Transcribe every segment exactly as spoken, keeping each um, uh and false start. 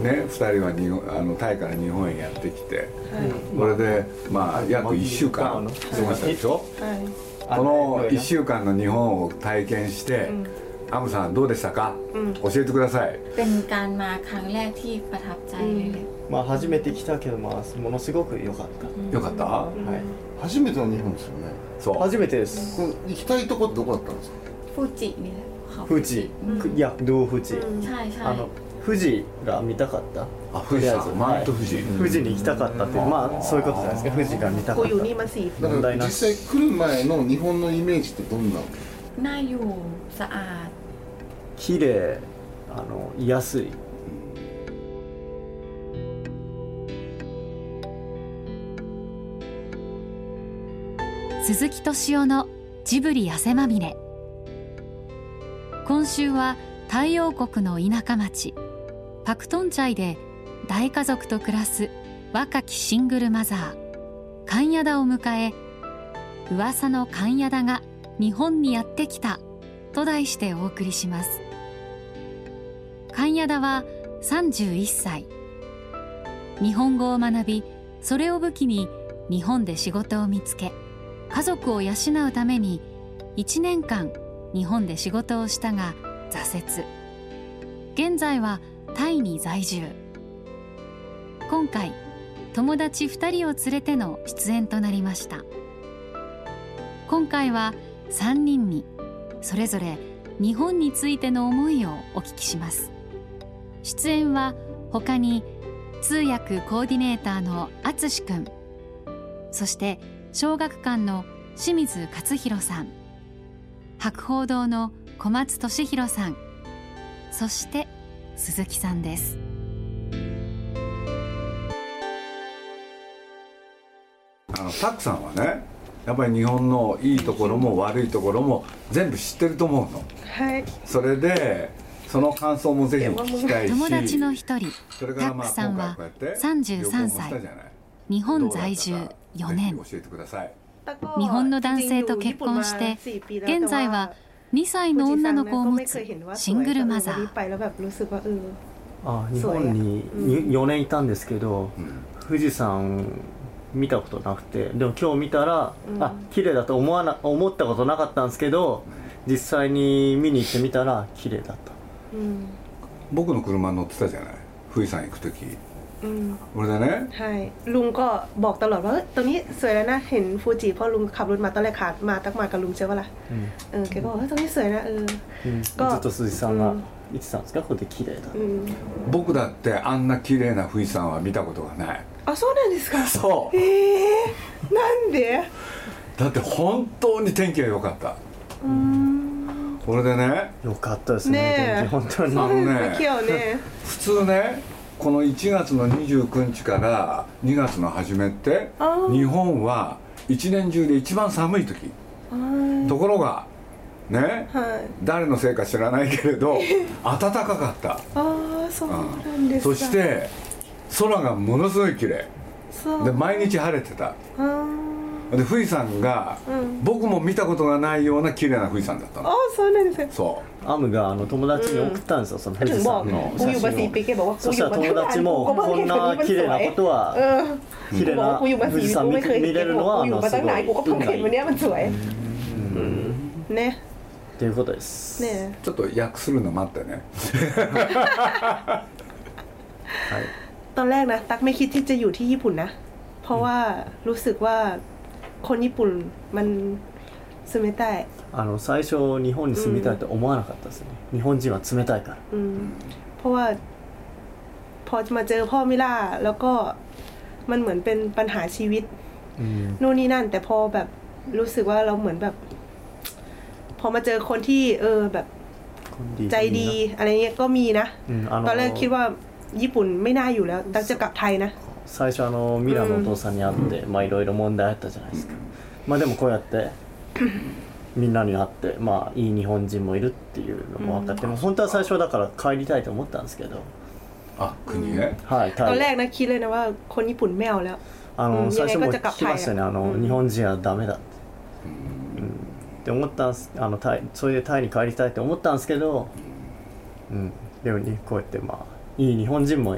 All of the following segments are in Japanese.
ね、ふたりは日本あのタイから日本へやってきて、これでまあ約いっしゅうかん過ごしたでしょ。このいっしゅうかんの日本を体験してアムさんどうでしたか、教えてください。 เป็นการมาครั้งแรกที่ประทับใจเลย。 まあ初めて来たけど、まあものすごく良かった。 良かった。はい。 初めての日本ですよね。 そう。 初めてです。 行きたいとこってどこだったんですか。 富士นี่แหละ。 富士。いや、どう富士。 ใช่ใช่。 あの富士が見たかった。 あ、富士山、マウント富士。 富士に行きたかったって、まあそういうことじゃないですか。富士が見たかった。 だから実際来る前の日本のイメージってどんな。 น่าอยู่สะอาด。 綺麗、あの居やすい。 鈴木敏夫のジブリ汗まみれ。今週は太陽国の田舎町パクトンチャイで大家族と暮らす若きシングルマザーカンヤダを迎え、噂のカンヤダが日本にやってきたと題してお送りします。カンヤダはさんじゅういっさい。日本語を学び、それを武器に日本で仕事を見つけ、家族を養うためにいちねんかん日本で仕事をしたが挫折。現在はタイに在住。今回友達ふたりを連れての出演となりました。今回はさんにんにそれぞれ日本についての思いをお聞きします。出演は他に通訳コーディネーターのあつしくん、そして小学館の清水勝弘さん、博報堂の小松俊弘さん、そして鈴木さんです。 あのタクさんはね、やっぱり日本のいいところも悪いところも全部知ってると思うの。 はい。 それでその感想もぜひ聞きたいし。 友達の一人タックさんはさんじゅうさんさい、日本在住よねん。 教えてください。 日本の男性と結婚して現在はにさいの女の子を持つシングルマザー。 あ、日本によねんいたんですけど、富士山見たことなくて、でも今日見たら、うん、あ、綺麗だと思わな思ったことなかったんですけど、実際に見に行ってみたら綺麗だった、 うん、僕の車乗ってたじゃない、富士山行く時、うん、俺だね。 はい。ลุงก็บอกตลอดว่าตรงนี้สวยแล้วนะเห็นฟูจิเพราะลุงขับรถมาตอนแรกขาดมาตักมากับลุงใช่ป่ะล่ะเออแกก็บอกว่าตรงนี้สวยนะเออก็ずっと鈴木さんが言ってたんですか、ここで綺麗だ。 僕だってあんな綺麗な富士山は見たことがない。 あ、そうなんですか。 そう。 ええー、なんで？ だって本当に天気が良かった。うん。これでね。 良かったですね。天気本当に。 あのね。 今日ね。 普通ね、このいちがつのにじゅうくにちからにがつの初めって日本はいちねん中で一番寒い時。ところがね、はい、誰のせいか知らないけれど暖かかった。 ああ、そうなんですか。 そして空がものすごい綺麗で毎日晴れてた。で富士山が、うん、僕も見たことがないような綺麗な富士山だったの。 ああ、そうなんですよ。 そう。 アムがあの友達に送ったんですよ、うん、その富士山の写真を。そしたら友達もこんな綺麗なことは、うん、綺麗な富士山 見, 見れるのはあのすごい運がいい。 ね。 ということです。 ね。 ちょっと訳するの待ってね。 はい。ตอนแรกนะตั๊กไม่คิดที่จะอยู่ที่ญี่ปุ่นนะเพราะว่ารู้สึกว่าคนญี่ปุ่นมัน住めたい。 あの最初日本に住みたいと思わなかったですね、うん、日本人は冷たいから、 うん、เพราะว่าพอมาเจอพ่อมิล่าแล้วก็มันเหมือนเป็นปัญหาชีวิตนู่นนี่นั่นแต่พอแบบรู้สึกว่าเราเหมือนแบบพอมาเจอคนที่เออแบบใจดีอะไรเงี้ยก็มีนะตอนแรกคิดว่าญี่ปุ่นไม่น่าอยู่แล้วตั๊กจะกลับไทยนะ最初あのミラのお父さんに会って、まあいろいろ問題あったじゃないですか。まあでもこうやってみんなに会って、まあいい日本人もいるっていうのも分かって、もう本当は最初だから帰りたいと思ったんですけど。 あ、国へ。 はい。 ตอนแรกนะคิดเลยนะว่าคนญี่ปุ่นไม่เอาแล้ว。 あの最初も聞きましたね。あの日本人はダメだって。って思ったんです。あのタイ、それでタイに帰りたいと思ったんですけど、うん、でもこうやってまあいい日本人も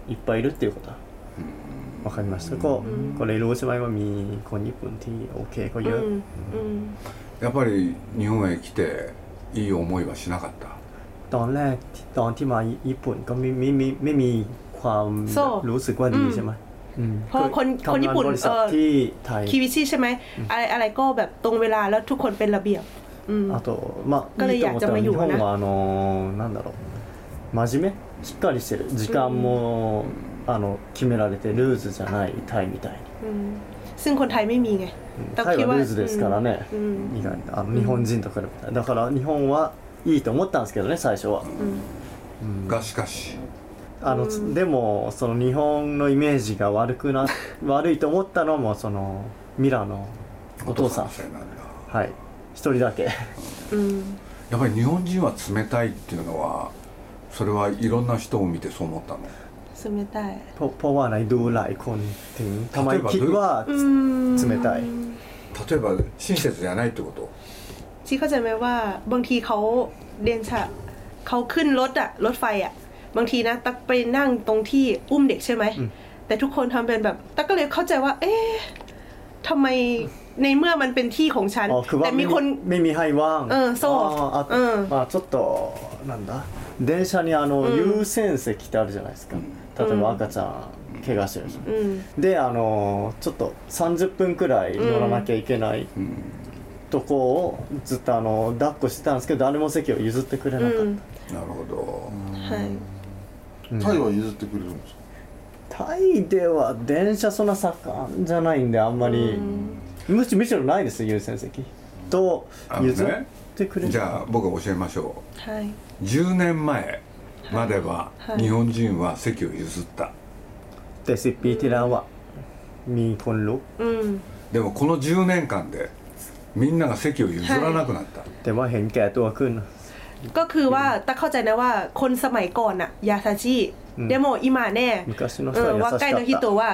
いっぱいいるっていうことは分かりました ก็ ก็เลยรู้ใช่ไหมว่ามีคนญี่ปุ่นที่โอเคเขาเยอะやっぱり日本へ来ていい思いはしなかったตอนแรกตอนที่มาญี่ปุ่นก็ไม่ไม่ไม่ไม่มีความรู้สึกว่าดีใช่ไหมเพราะคนคนญี่ปุ่นทำงานบริษัทที่ไทยคิวิชิใช่ไหมอะไรอะไรก็แบบตรงเวลาแล้วทุกคนเป็นระเบียบあとまあก็เลยอยากจะมาอยู่นะ日本はあのなんだろう真面目しっかりしてる時間もあの決められてルーズじゃないタイみたいにซึ่งคนไทยไม่มีไงタイはルーズですからね意外にあの日本人と比べたらだから日本はいいと思ったんですけどね最初はがしかしあのでもその日本のイメージが悪くな悪いと思ったのもそのミラのお父さんはい一人だけやっぱり日本人は冷たいっていうのはそれはいろんな人を見てそう思ったの冷たいเพราะเพราะว่าในดูหลายคนถึงทำไมคิดว่า冷たい例えば親切じゃないってことที่เข้าใจไหมว่าบางทีเขาเดนชะเขาขึ้นรถอะรถไฟอะบางทีนะตักไปนั่งตรงที่อุ้มเด็กใช่ไหมแต่ทุกคนทำเป็นแบบตักก็เลยเข้าใจว่าเอ๊ะทำไมในเมื่อมันเป็นที่ของฉันแต่มีคนไม่มีให้ว่างเออโซ่เออまあちょっとなんだ電車にあの優先席ってあるじゃないですか例えば赤ちゃん怪我してる人であのちょっとさんじゅっぷんくらい乗らなきゃいけないとこをずっとあの抱っこしてたんですけど誰も席を譲ってくれなかったなるほどタイは譲ってくれるんですかタイでは電車そんな盛んじゃないんであんまりむしむしろないです優先席と譲ってくれる、 ね、じゃあ僕が教えましょう、はい、じゅうねんまえまでは日本人は席を譲った、 แต่สิบปีที่แล้วはมีคนลุกでもこのじゅうねんかんでみんなが席を譲らなくなった、 แต่ว่าเห็นแก่ตัวขึ้นก็คือว่าตาเข้าใจนะว่าคนสมัยก่อนอะยาซาชิเดโมอิมาแน่ว่าใกล้の人は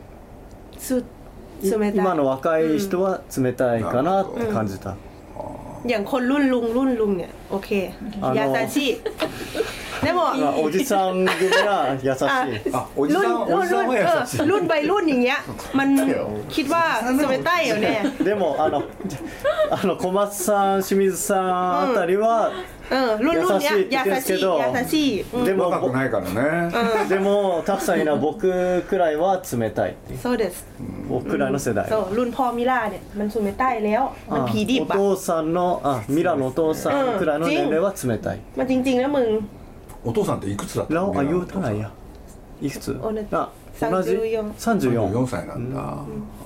今の若い人は冷たいかなって感じたอย่างคนรุ่นลุงรุ่นลุงเนี่ยโอเคยาซาชิでもおじさん組は優しいあおじさんおじさんは優しいรุ่นวัยรุ่นอย่างเงี้ยมันคิดว่า冷たいよねでもあのあの小松さん清水さんあたりは優しいって言うんですけどでも若くないからねでもたくさんいる僕くらいは冷たいそうです僕くらいの世代そうรุ่นพ่อมิラเนี่ยมัน冷たいแล้วมันผีดิบอะお父さんのあミラのお父さんくらいの年齢は冷たいมันจริงๆนะมึงお父さんっていくつだったの？ แล้วอายุเท่าไหร่อะいくつ？あ、同じさんじゅうよんさんじゅうよんさいなんだ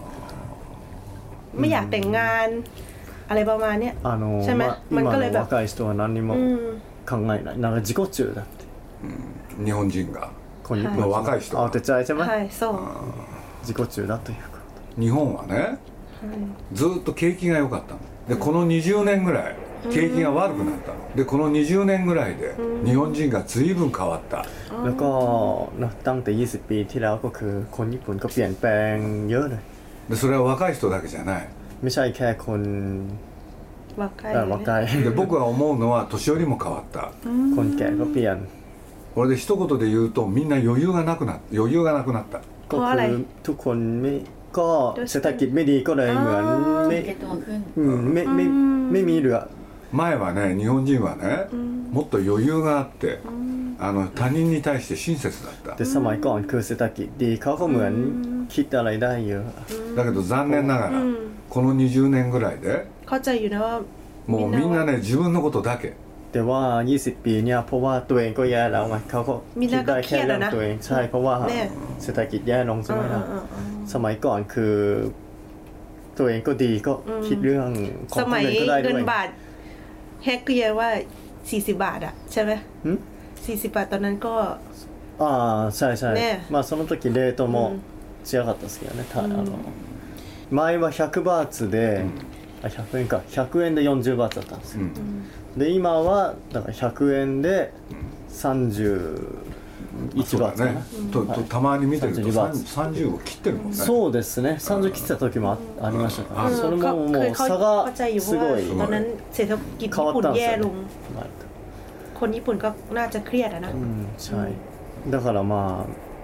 ไม่อยากแต่งงานอะไรประมาณเนี้ยใช่ไหมมันก็เลยแบบ若い人は何も考えないなんか自己中だって日本人が若い人慌てちゃいใช่ไหมはいそう自己中だというか日本はねずっと景気が良かったのでこのにじゅうねんぐらい景気が悪くなったのでこのにじゅうねんぐらいで日本人が随分変わったแล้วก็ตั้งแต่ยี่สิบปีที่แล้วก็คือคนญี่ปุ่นก็เปลี่ยนแปลงเยอะเลยでそれは若い人だけじゃないไม่ใช่แค่คน若い若いで僕が思うのは年寄りも変わったคนแก่ก็เปลี่ยนこれで一言で言うとみんな余裕がなくな余裕がなくなったก็คือทุกคนไม่ก็เศรษฐกิจไม่ดีก็เลยเหมือนไม่ไม่ไม่ไม่มีเหลือ前はね日本人はねもっと余裕があってあの他人に対して親切だったでสมัยก่อนคือเศรษฐกิจดีเขาก็เหมือนคิดอะไรได้เยอะだけど残念ながらこのにじゅうねんぐらいでเข้าใจอยู่นะว่าもうみんなね自分のことだけแต่ว่ายี่สิบปีเนี่ยเพราะว่าตัวเองก็แย่แล้วไงเขาก็คิดได้แค่เรื่องตัวเองใช่เพราะว่าเศรษฐกิจแย่ลงใช่ไหมล่ะสมัยก่อนคือตัวเองก็ดีก็คิดเรื่องของคนอื่นก็ได้ด้วยแฮกเกียว่าสี่สิบบาทอะใช่ไหมสี่สิบบาทตอนนั้นก็ああใช่ใช่まあその時レートも違かったですけどねあの前はひゃくバーツであひゃくえんかひゃくえんでよんじゅうバーツだったんですよで今はだからひゃくえんでさんじゅういちバーツかな、 ととたまに見てるとさんじゅうを切ってるもんねそうですねさんじゅう切ってた時も あ, ありましたからそれももう差がすごいตอนนั้นเศรษฐกิจญี่ปุ่นแย่ลงคนญี่ปุ่นก็น่าจะเครียดอะนะใช่だからまあ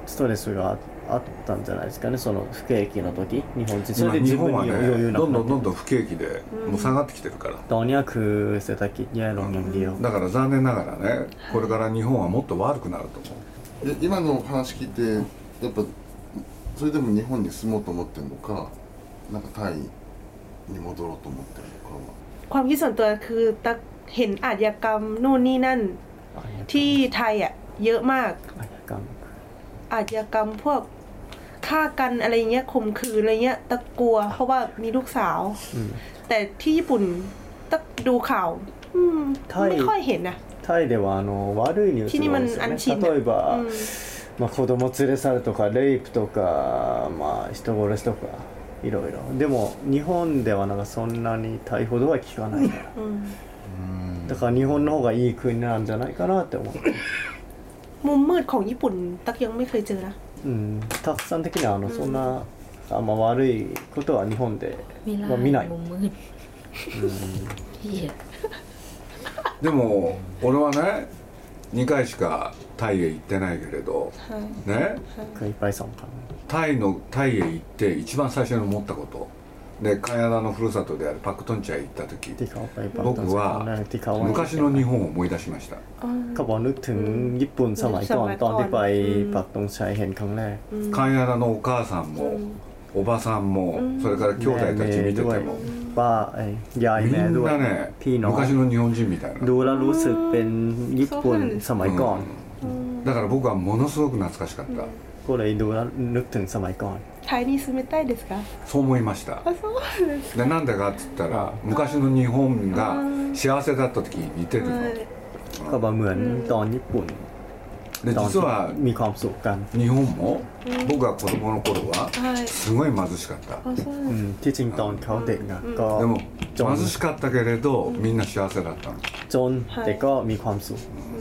ストレスがあったんじゃないですかね、その不景気の時日本人それで日自分本はねに余裕なくなってどんどんどんどん不景気でもう下がってきてるから、 ตอนนี้คือเศรษฐกิจแย่ลงอย่างเดียวだから残念ながらねこれから日本はもっと悪くなると思う。 で今の話聞いてやっぱそれでも日本に住もうと思ってるのかなんかタイに戻ろうと思ってるのかはความคิดส่วนตัวคือตักเห็นอาชญากรรมนู่นนี่นั่นที่ไทยอ่ะเยอะมากอาชญากรรมอาชญากรรมพวกฆ่ากันอะไรเงี้ยข่มขืนอะไรเงี้ยตักกลัวเพราะว่ามีลูกสาวแต่ที่ญี่ปุ่นตักดูข่าวอืมไม่ค่อยเห็นนะタイではあの悪いニュースが多いですよね。例えば、まあ、子供連れ去るとかレイプとか、まあ、人殺しとかいろいろでも日本ではなんかそんなに大ほどは聞かないから、だから日本の方がいい国なんじゃないかなって思う。 มุมมืดของญี่ปุ่นตักยังไม่เคยเจอนะうん、たくさん的にはあのそんなあんま悪いことは日本では見ない。 มุมมืดเหี้ยでも俺はねにかいしかタイへ行ってないけれど、ね、 いっぱいさんかタイのタイへ行って一番最初に思ったことで、カナダのふるさとであるパクトンチャへ行った時、僕は昔の日本を思い出しました。 เขาบอกนึกถึงญี่ปุ่นสมัยก่อนตอนที่ไปปักธงชัยเห็นครั้งแรกカナダのお母さんもおばさんもそれから兄弟たち見ててもป้ายายแม่ด้วยพี่น้อง昔の日本人みたいなดูแล้วรู้สึกเป็นญี่ปุ่นสมัยก่อนだから僕はものすごく懐かしかった。 ก็เลยดูแล้วนึกถึงสมัยก่อนไทยนี่住めたいですか？ そう思いました。 あ、そうですでなんでかっつったら昔の日本が幸せだった時に似てるの。 ก็บอกเหมือนตอนญี่ปุ่นで実はมีความสุขกัน日本も僕が子供の頃はすごい貧しかった。 ที่จริงตอนเขาเด็กอ่ะก็でも貧しかったけれどみんな幸せだったの。 จนแต่ก็มีความสุข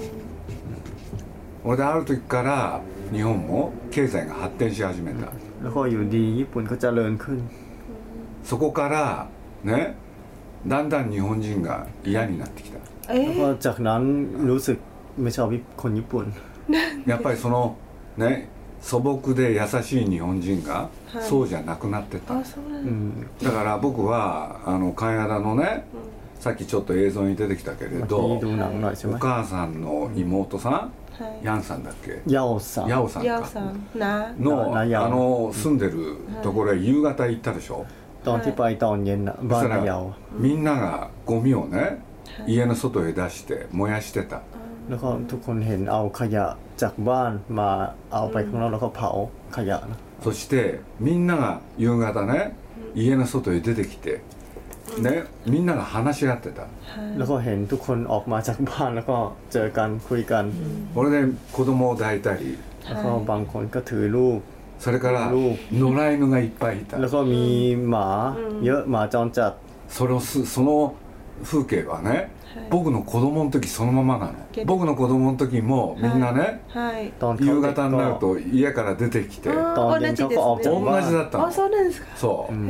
俺である時から日本も経済が発展し始めた。 แล้วก็อยู่ดีญี่ปุ่นก็เจริญขึ้นそこからねだんだん日本人が嫌になってきた。 แล้วก็จากนั้นรู้สึกไม่ชอบคนญี่ปุ่นやっぱりそのね素朴で優しい日本人がそうじゃなくなってた。だから僕はあのカナダのねさっきちょっと映像に出てきたけれどお母さんの妹さんヤンさんだっけヤオさんヤオさんかのあの住んでるところへ夕方行ったでしょ。 ตอนที่ไปตอนเย็นน่ะบ้านนายาみんながゴミをね家の外へ出して燃やしてた。 แล้วก็ทุกคนเห็นเอาขยะจากบ้านมาเอาไปข้างนอกแล้วก็เผาขยะนะそしてみんなが夕方ね家の外へ出てきてねみんなが話し合ってた。 แล้วก็เห็นทุกคนออกมาจากบ้านแล้วก็เจอกันคุยกันこれで子供を抱いたりแล้วก็บางคนก็ถือลูกそれから野良犬がいっぱいいた。 แล้วก็มีหมาเยอะหมาจรจัดそれをその風景はね僕の子供の時そのままなの。僕の子供の時もみんなね、はい、夕方になると家から出てきて同じだったの。 あ、そうなんですか。 そう、うん、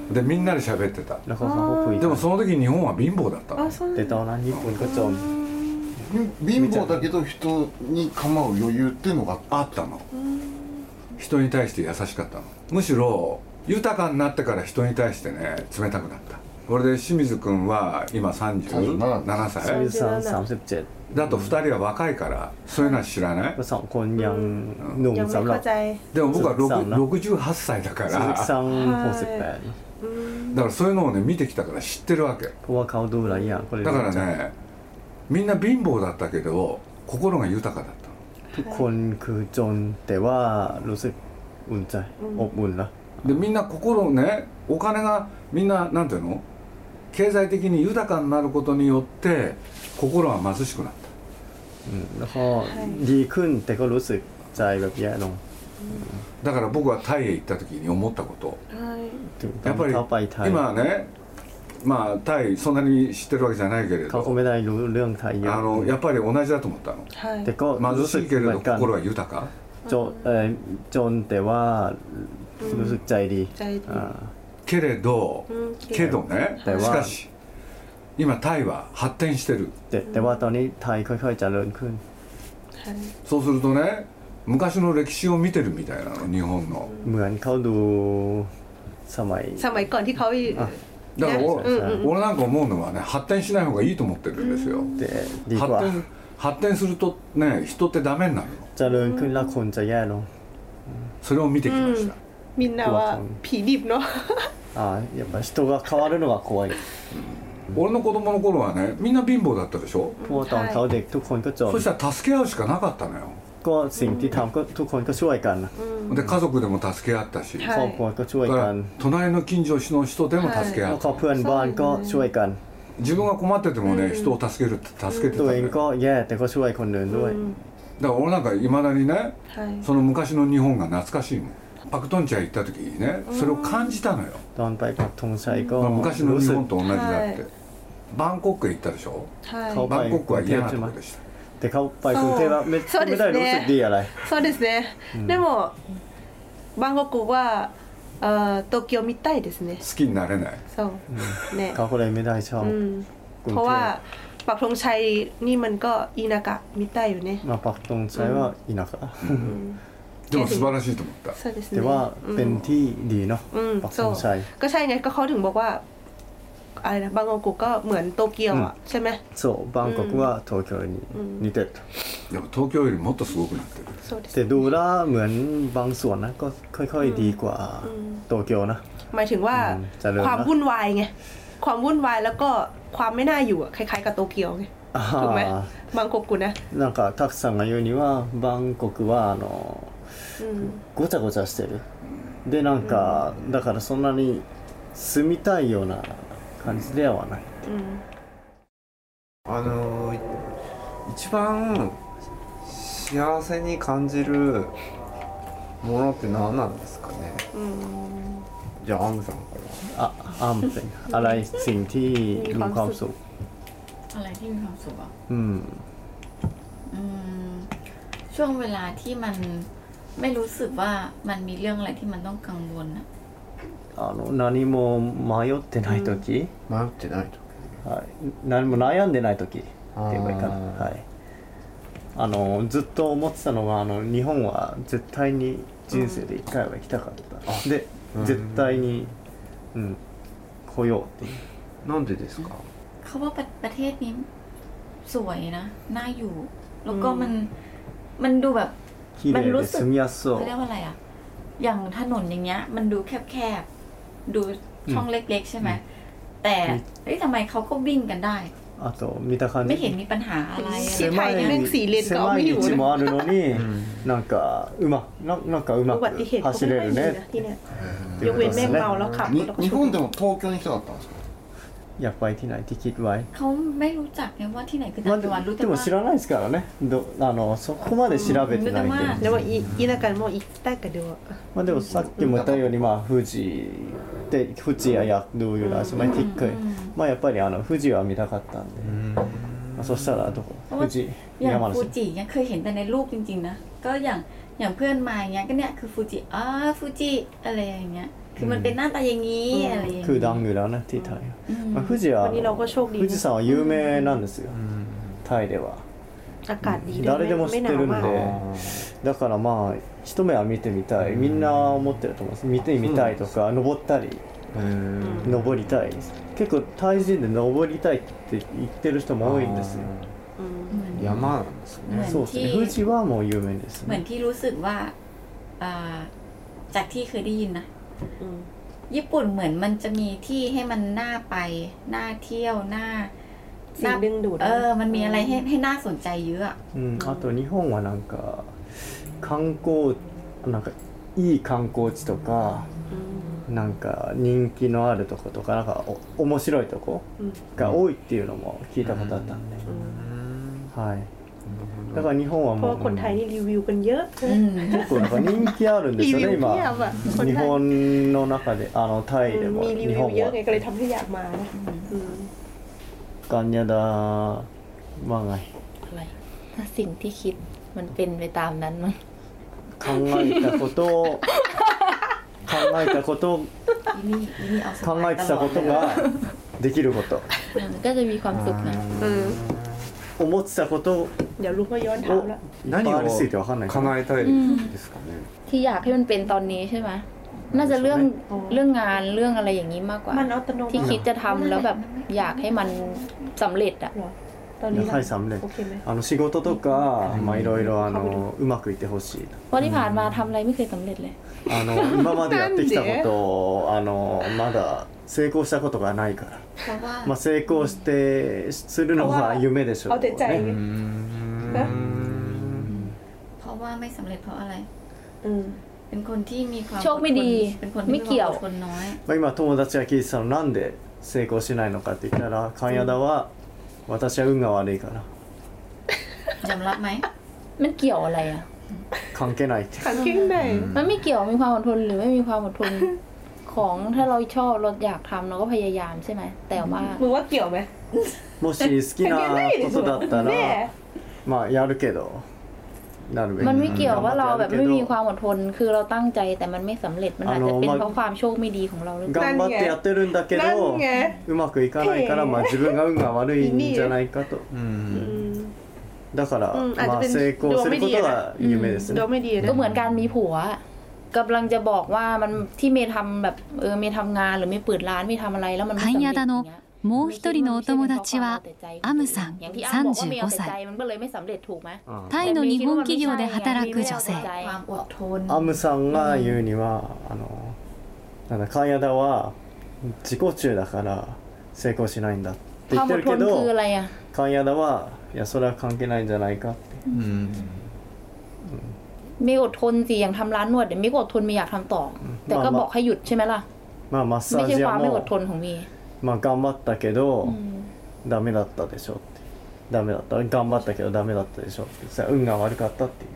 でみんなで喋ってた。でもその時日本は貧乏だったの。 でตอนนั้นญี่ปุ่นก็จน貧乏だけど人に構う余裕っていうのがあったの。人に対して優しかったの。むしろ豊かになってから人に対してね冷たくなった。これで清水君は今さんじゅうななさいだとふたりは若いからそういうのは知らない。 สองคนยังหนุ่มสำหรับでも僕はろくじゅうはっさいだからだからそういうのをね見てきたから知ってるわけ。だからねみんな貧乏だったけど心が豊かだった。 ทุกคนคือจนแต่ว่ารู้สึกอุ่นใจอบอุ่นนะでみんな心ねお金がみんななんていうの経済的に豊かになることによって心は貧しくなった。 うん、แล้วก็ดีขึ้นแต่ก็รู้สึกใจแบบแย่ลงだから僕はタイへ行った時に思ったこと、やっぱり今ねまあタイそんなに知ってるわけじゃないけれどเขาก็ไม่ได้รู้เรื่องไทยเยอะあのやっぱり同じだと思ったの。 แต่ก็貧しいけれど心は豊か。 จนเอ่อจนแต่ว่ารู้สึกใจดีけれどけどねしかし今タイは発展してる。 แต่แต่ว่าตอนนี้ไทยค่อยๆเจริญขึ้นそうするとね昔の歴史を見てるみたいなの日本のเหมือนเขาดูสมัยสมัยก่อนที่เขาだから俺、うん、俺なんか思うのはね発展しない方がいいと思ってるんですよ、うん、発展発展するとね人ってダメになるのเจริญขึ้นแล้วคนจะแย่ลงそれを見てきました、 みんなはผีดิบเนาะああやっぱ人が変わるのが怖い、うん、 俺の子供の頃はねみんな貧乏だったでしょเพราะตอนเขาเด็กทุกคนก็จนそしたら助け合うしかなかったのよก็สิ่งที่ทำก็ทุกคนก็ช่วยกันで家族でも助け合ったし、 ครอบครัวก็ช่วยกัน隣の近所の人でも助け合った、 เพื่อนบ้านก็ช่วยกัน自分が困っててもね人を助けるって助けてたตัวเองก็แย่แต่ก็ช่วยคนอื่นด้วยだから俺なんかいまだにねその昔の日本が懐かしいもんパクトンチャイ行った時にねそれを感じたのよตอนไปปักธงชัยก็昔の日本と同じだってバンコクへ行ったでしょバンコクは嫌なとこでしたแต่เขาไปกรุงเทพแล้วไม่ไม่ได้รู้สึกดีอะไรそうですねでもバンコクは東京みたいですね好きになれないそうねเขาก็เลยไม่ได้ชอบเพราะว่าปักธงชัยนี่มันก็อินากะみたいよねมาปักธงชัยว่าอินากะでも素晴らしいと思ったแต่ว่าเป็นที่ดีเนาะปักธงชัยก็ใช่ไงก็เขาถึงบอกว่าอะไรนะบางกอกก็เหมือนโตเกียวอ่ะใช่ไหมそうバンコクは東京に似てるでも東京よりもっとすごくなってるแต่ดูแล้วเหมือนบางส่วนนะก็ค่อยๆดีกว่าโตเกียวนะหมายถึงว่าความวุ่นวายไงความวุ่นวายแล้วก็ความไม่น่าอยู่อ่ะคล้ายๆกับโตเกียวไงถูกไหมบางกอกนะなんかたくさんが言うにはバンコクはあのごちゃごちゃしてるでなんかだからそんなに住みたいような感じではない、うん、 あの一番幸せに感じるものって何なんですかね、うん、じゃあアムさんからあアムさんอะไรสิ่งที่มีความสุขอะไรที่มีความสุขอ่ะอืมอืมช่วงเวลาที่มันไม่รู้สึกว่ามันมีเรื่องอะไรที่มันต้องกังวลอะあの何も迷ってない時、 うん、迷ってない時、 はい、何も悩んでない時って言えばいいかな、はい、あのずっと思ってたのがあの日本は絶対に人生で一回は行きたかった、うん、で、うん、絶対に、うん、来ようっていうなんでですかเขาว่าประเทศนี้สวยนะน่าอยู่แล้วก็มันมันดูแบบมันรู้สึกเขาเรียกว่าอะไรอ่ะอย่างถนนอย่างเงี้ยมันดูแคบๆดูช่องเล็กๆใช่ไหมแต่เฮ้ยทำไมเขาก็วิ่งกันได้あと見た感じไม่เห็นมีปัญหาอะไรที่ไทยเรื่องสี่เลนก็ไม่อยู่นะもあるのになんかうまなんかうまく走れるねยกเว้นแม่เมาแล้วขับ日本でも東京に来たかったんですかอยากไปที่ไหนที่คิดไว้เขาไม่รู้จักไงว่าที่ไหนคือจังหวัดรู้แต่ว่าでも知らないですからねあのそこまで調べてないんででも田舎も行きたいけどまあでもさっきも言ったようにまあ富士で富士ややดูอยู่แล้วใช่ไหมที่เคยまあやっぱりあの富士は見たかったんでまあそしたらどこ富士อย่างฟูจิเนี่ยเคยเห็นแต่ในรูปจริงๆนะก็อย่างอย่างเพื่อนมาอย่างเงี้ยก็เนี่ยคือฟูจิอ๋อฟูจิอะไรอย่างเงี้ยคือมันเป็นหน้าตาอย่างนี้อะไรอย่างนี้คือดังอยู่แล้วนะที่ไทย富士は富士山は有名なんですよタイではอากาศดี誰でも知ってるんでだからまあ一目は見てみたいみんな思ってると思います見てみたいとか登ったり登りたい結構タイ人で登りたいって言ってる人も多いんですよ山なんですねそうですね富士はもう有名ですねเหมือนที่รู้สึกว่าจากที่เคยได้ยินนะญี่ปุ่นเหมือนมันจะมีที่ให้มันน่าไปน่าเที่ยวน่าสิ่งดึงดูดเออมันมีอะไรให้ให้น่าสนใจเยอะอืมあと日本はなんか観光なんかいい観光地とかなんか人気のあるとことかなんかお面白いとこが多いっていうのも聞いたことあったんではいだから日本はもうเพราะคนไทยนี่รีวิวกันเยอะ結構なんか人気あるんですよね今日本の中であのタイでも日本はเยอะไงก็เลยทำให้อยากมานะกัญญาดาว่าไงอะไรถ้าสิ่งที่คิดมันเป็นไปตามนั้นมั้ง考えたこと考えたこと考えてたことができることก็จะมีความสุขนะ思ってたことをเดี๋ยวลุงก็ย้อนถามแล้ว何を叶えたいですかねที่อยากให้มันเป็นตอนนี้ใช่ไหมน่าจะเรื่องเรื่องงานเรื่องอะไรอย่างนี้มากกว่าที่คิดจะทำแล้วแบบอยากให้มันสำเร็จอะはい、สำเร็จあの仕事とかまあいろいろあのうまくいってほしいเพราะที่ผ่านมาทำอะไรไม่เคยสำเร็จเลยあの今までやってきたことをあのまだ成功したことがないからまあ成功してするのが夢でしょうねเพราะว่าไม่สำเร็จเพราะอะไรเป็นคนที่มีความโชคไม่ดีไม่เกี่ยวคนน้อยまあ今友達が聞いてたのなんで成功しないのかって言ったら神谷田は私は運が悪いからยอมรับไหมมันเกี่ยวอะไรอ่ะ関係ないって関係ないมันไม่เกี่ยวมีความอดทนหรือไม่มีความอดทนของถ้าเราชอบเราอยากทำเราก็พยายามใช่ไหมแต่ว่ามึงว่าเกี่ยวไหมもし好きなことだったらまあやるけどมันไม่เกี่ยวว่าเราแบบไม่มีความอดทนคือเราตั้งใจแต่มันไม่สำเร็จมันอาจจะเป็นเพราะความโชคไม่ดีของเราหรือเปล่า頑張ってやってるんだけどうまくいかないからまあ自分が運が悪いんじゃないかとだからまあ成功することが夢ですねก็เหมือนการมีผัวกำลังจะบอกว่ามันที่เมย์ทำแบบเออเมย์ทำงานหรือเมย์เปิดร้านเมย์ทำอะไรแล้วมันไม่สำเร็จอย่างเงี้ยもう一人のお友達はアムさんさんじゅうごさいタイの日本企業で働く女性アムさんが言うにはあのなんだ神谷田は自己中だから成功しないんだって言ってるけど神谷田はいやそれは関係ないんじゃないかってไม่อดทนสิอย่างทำร้านนวดเดี๋ยวไม่อดทนไม่อยากทำต่อแต่ก็บอกให้หยุดใช่ไหมล่ะไม่ใช่ความไม่อดทนของมีまあ頑張ったけど、うん、ダメだったでしょってダメだった頑張ったけどダメだったでしょってさ運が悪かったっていう、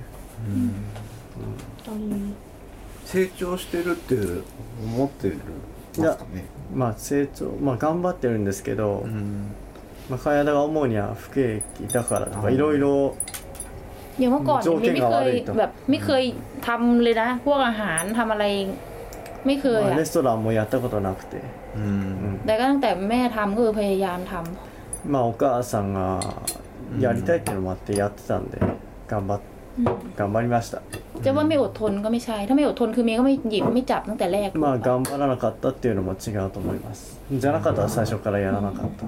うんうん、成長してるって思ってるんですかねまあ成長まあ頑張ってるんですけど、うんまあ、神谷田が思うには不景気だからとかいろいろอย่างเมื่อก่อนไม่เคยแบบไม่เคยทำเลยนะพวกอาหารทำอะไรไม่เคยอะレストランもやったことなくてแต่ก็ตั้งแต่แม่ทำก็คือพยายามทำまあお母さんがやりたいっていうのもあってやってたんで頑張っ頑張りましたจะว่าไม่อดทนก็ไม่ใช่ถ้าไม่อดทนคือเมย์ก็ไม่หยิบไม่จับตั้งแต่แรกまあ頑張らなかったっていうのも違うと思いますじゃなかったら最初からやらなかった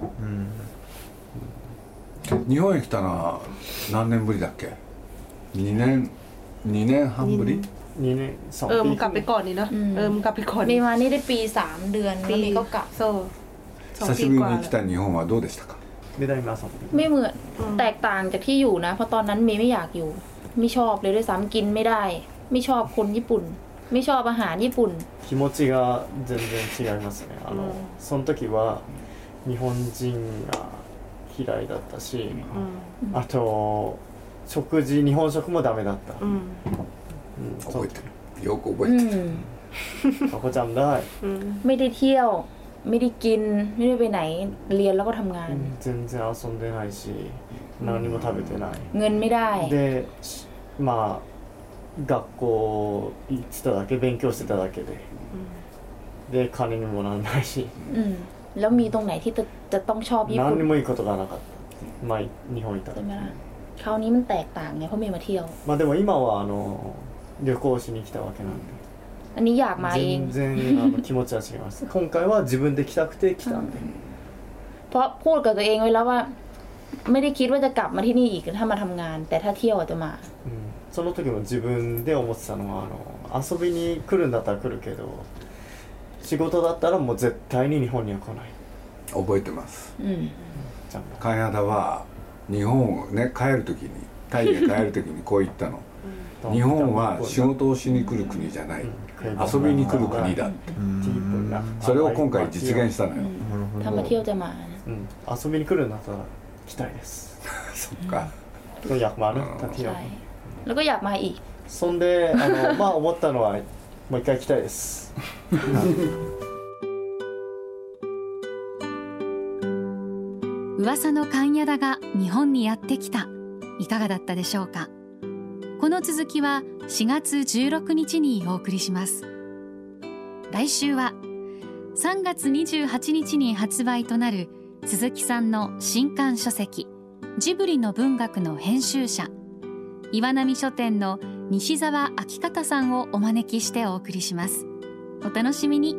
日本へ来たのは何年ぶりだっけにねんにねんはんぶりนี่เนี่ยสองปีเออมึงกลับไปก่อนนี่นะเออมึงกลับไปก่อนมีมานี่ได้ปีสามเดือนแล้วมีก็กลับโซ่久しぶりに来た日本はどうでしたかไม่ได้มาสองปีไม่เหมือนแตกต่างจากที่อยู่นะเพราะตอนนั้นเมย์ไม่อยากอยู่ไม่ชอบเลยด้วยซ้ำกินไม่ได้ไม่ชอบคนญี่ปุ่นไม่ชอบอาหารญี่ปุ่น気持ちが全然違いますねあのその時は日本人が嫌いだったしあと食事日本食もダメだった覚えてるよく覚えてるเขาก็จำได้ไม่ได้เที่ยวไม่ได้กินไม่ได้ไปไหนเรียนแล้วก็ทำงาน全然遊んでないし何も食べてないเงินไม่ได้でまあ学校行ってただけ勉強してただけでで金にもならないしแล้วมีตรงไหนที่จะจะต้องชอบญี่ปุ่น何にもいいことがなかったまあ日本いたらคราวนี้มันแตกต่างไงเพราะเมย์มาเที่ยวまあでも今はあの旅行しに来たわけなんでอันนี้อยากมาเอง全然あの気持ちは違います今回は自分で来たくて来たんでเพราะพูดกับตัวเองไว้แล้วว่าไม่ได้คิดว่าจะกลับมาที่นี่อีกถ้ามาทำงานแต่ถ้าเที่ยวจะมาその時も自分で思ってたのはあの遊びに来るんだったら来るけど仕事だったらもう絶対に日本には来ない覚えてます神谷田は日本をね帰る時にタイへ帰る時にこう言ったの日本は仕事をしに来る国じゃない遊びに来る国だってそれを今回実現したのよたまเที่ยวจะมา遊びに来るんだったら来たいですそっかอยากมานะถ้าเที่ยวแล้วก็อยากมาอีกそんであのまあ思ったのはもう一回来たいです噂の神谷田が日本にやってきたいかがだったでしょうかこの続きはしがつじゅうろくにちにお送りします来週はさんがつにじゅうはちにちに発売となる鈴木さんの新刊書籍ジブリの文学の編集者、岩波書店の西澤明方さんをお招きしてお送りします。お楽しみに。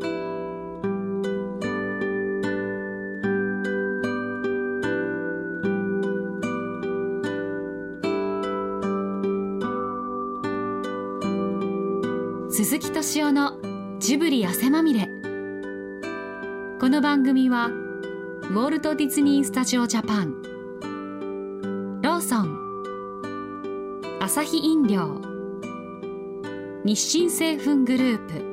鈴木敏夫のジブリ汗まみれ。この番組はウォルト・ディズニー・スタジオ・ジャパン、ローソン、アサヒ飲料、日清製粉グループ、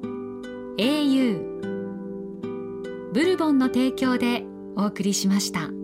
エーユー、ブルボンの提供でお送りしました。